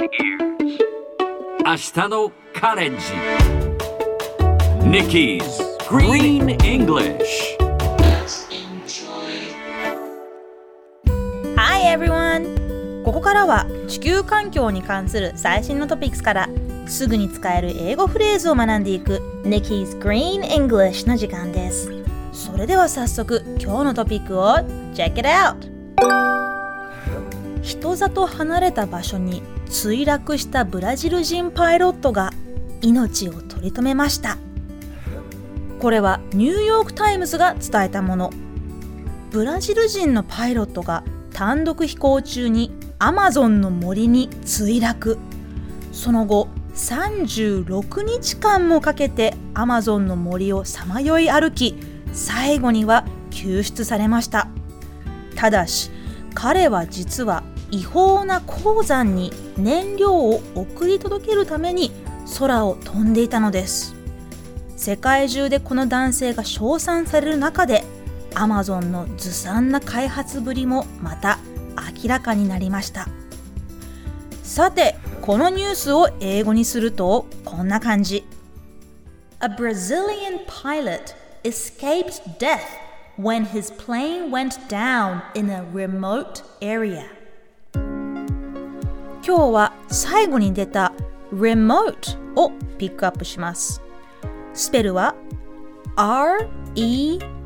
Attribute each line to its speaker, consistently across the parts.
Speaker 1: ears. 明日のカレンジ Nikki's Green English.
Speaker 2: Hi everyone! ここからは地球環境に関する最新のトピックスからすぐに使える英語フレーズを学んでいく Nikki's Green English の時間です。それでは早速今日のトピックを Check it out! 人里離れた場所に墜落したブラジル人パイロットが命を取り留めました。これはニューヨークタイムズが伝えたもの。ブラジル人のパイロットが単独飛行中にアマゾンの森に墜落。その後36日間もかけてアマゾンの森をさまよい歩き、最後には救出されました。ただし彼は実は違法な鉱山に燃料を送り届けるために空を飛んでいたのです。世界中でこの男性が称賛される中でアマゾンのずさんな開発ぶりもまた明らかになりました。さてこのニュースを英語にするとこんな感じ。 A Brazilian pilot escaped death when his plane went down in a remote area。 今日は最後に出た remote をピックアップします。スペルは R-E-M-O-T-E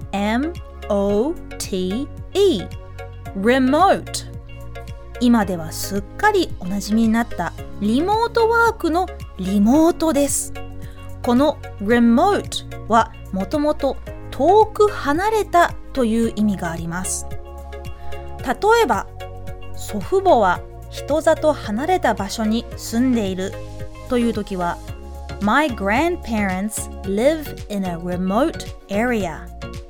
Speaker 2: remote。 今ではすっかりおなじみになったリモートワークのリモートです。この remote はもともと遠く離れたという意味があります。例えば祖父母は人里離れた場所に住んでいるというときは My grandparents live in a remote area。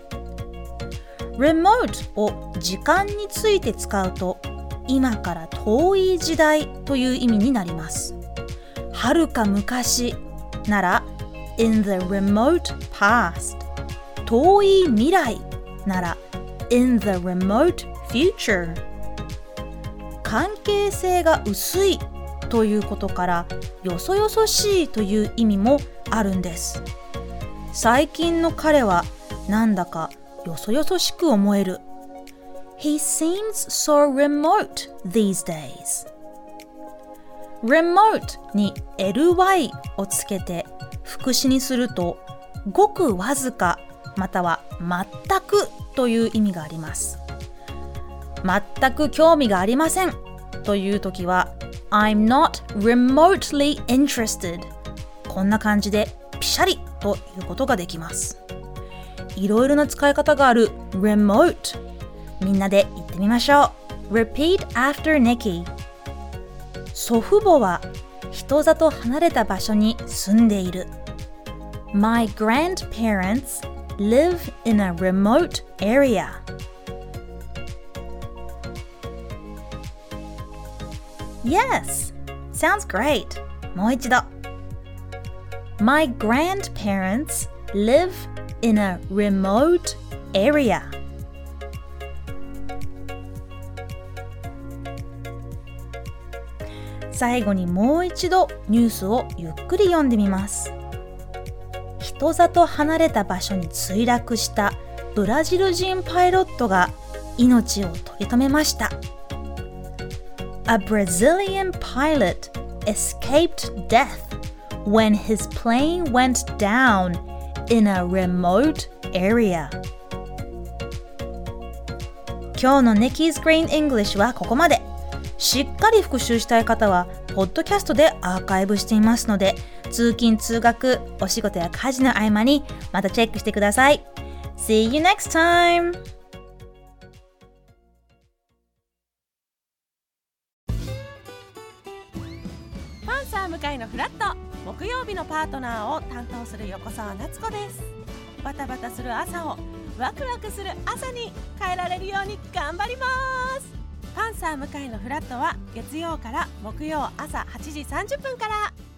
Speaker 2: remote を時間について使うと今から遠い時代という意味になります。はるか昔なら in the remote past。 遠い未来なら in the remote future。 関係性が薄いということからよそよそしいという意味もあるんです。最近の彼はなんだかよそよそしく思える。 He seems so remote these days。 remote に ly をつけて副詞にするとごくわずかまたは全くという意味があります。全く興味がありませんというときは I'm not remotely interested。 こんな感じでピシャリということができます。いろいろな使い方がある remote。 みんなで言ってみましょう。 Repeat after Nikki。 祖父母は人里離れた場所に住んでいる。 My grandparents live in a remote area。 Yes! Sounds great! もう一度。 My grandparents live in a remote area。 最後にもう一度ニュースをゆっくり読んでみます。人里離れた場所に墜落したブラジル人パイロットが命を取り留めました。 A Brazilian pilot escaped death when his plane went down in a remote area。 今日の Nikki's Green English はここまで。しっかり復習したい方はポッドキャストでアーカイブしていますので、通勤通学お仕事や家事の合間にまたチェックしてください。 See you next time!
Speaker 3: パンサー向かいのフラット、木曜日のパートナーを担当する横澤夏子です。バタバタする朝をワクワクする朝に変えられるように頑張ります。パンサー向かいのフラットは月曜から木曜朝8時30分から。